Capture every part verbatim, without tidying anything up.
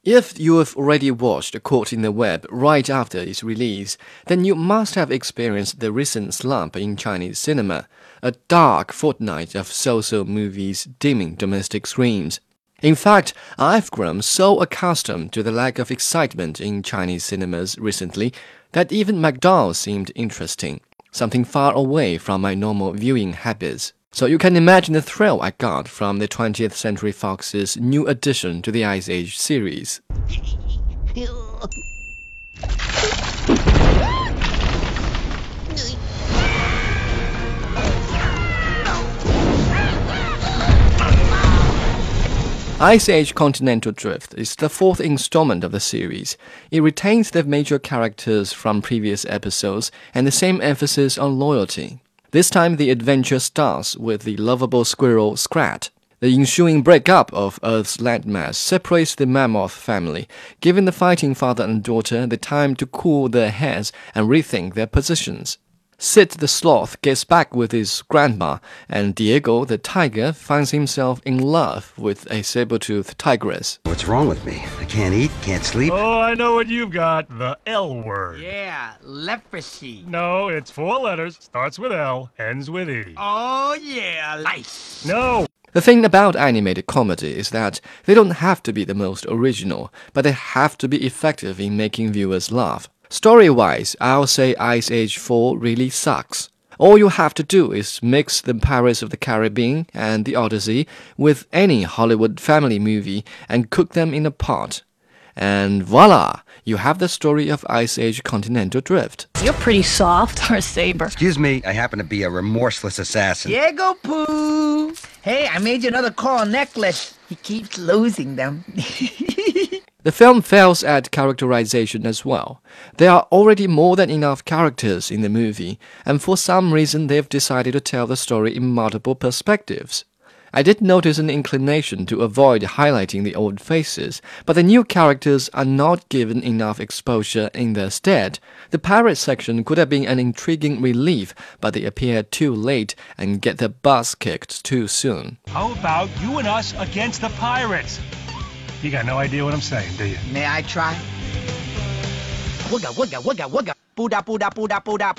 If you have already watched Caught in the Web right after its release, then you must have experienced the recent slump in Chinese cinema, a dark fortnight of so-so movies dimming domestic screens. In fact, I've grown so accustomed to the lack of excitement in Chinese cinemas recently that even McDonald's seemed interesting, something far away from my normal viewing habits. So you can imagine the thrill I got from the twentieth Century Fox's new addition to the Ice Age series. Ice Age Continental Drift is the fourth installment of the series. It retains the major characters from previous episodes and the same emphasis on loyalty. This time the adventure starts with the lovable squirrel Scrat. The ensuing breakup of Earth's landmass separates the Mammoth family, giving the fighting father and daughter the time to cool their heads and rethink their positions. Sid the sloth gets back with his grandma, and Diego the tiger finds himself in love with a saber-toothed tigress. What's wrong with me? I can't eat, can't sleep. Oh, I know what you've got. The L word. Yeah, leprosy. No, it's four letters, starts with L, ends with E. Oh, yeah, lice. No. The thing about animated comedy is that they don't have to be the most original, but they have to be effective in making viewers laugh. Story-wise, I'll say Ice Age four really sucks. All you have to do is mix the Pirates of the Caribbean and the Odyssey with any Hollywood family movie and cook them in a pot. And voila, you have the story of Ice Age Continental Drift. You're pretty soft, or Saber. Excuse me, I happen to be a remorseless assassin. Diego Pooh. Hey, I made you another coral necklace. He keeps losing them. The film fails at characterization as well. There are already more than enough characters in the movie, and for some reason they've decided to tell the story in multiple perspectives. I did notice an inclination to avoid highlighting the old faces, but the new characters are not given enough exposure in their stead. The pirate section could have been an intriguing relief, but they appear too late and get their butts kicked too soon. How about you and us against the pirates? You got no idea what I'm saying, do you? May I try? Wugga, wugga, wugga, wugga. Pooda, pooda, pooda, pooda.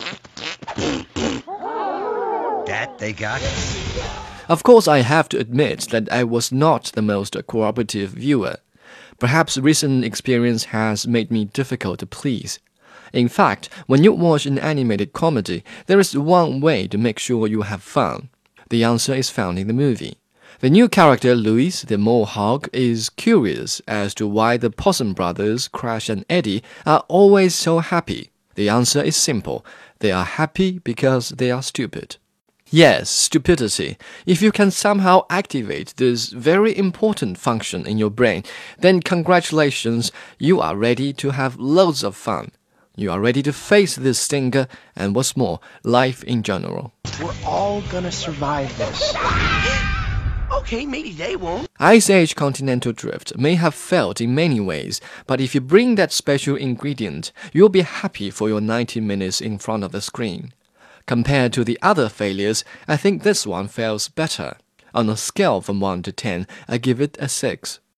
That they got? Of course, I have to admit that I was not the most cooperative viewer. Perhaps recent experience has made me difficult to please. In fact, when you watch an animated comedy, there is one way to make sure you have fun. The answer is found in the movie. The new character, Louis the Mohawk, is curious as to why the Possum Brothers, Crash and Eddie, are always so happy. The answer is simple. They are happy because they are stupid. Yes, stupidity. If you can somehow activate this very important function in your brain, then congratulations, you are ready to have loads of fun. You are ready to face this stinker and what's more, life in general. We're all gonna survive this. Okay, maybe they won't. Ice Age Continental Drift may have failed in many ways, but if you bring that special ingredient, you'll be happy for your ninety minutes in front of the screen. Compared to the other failures, I think this one fails better. On a scale from one to ten, I give it a six.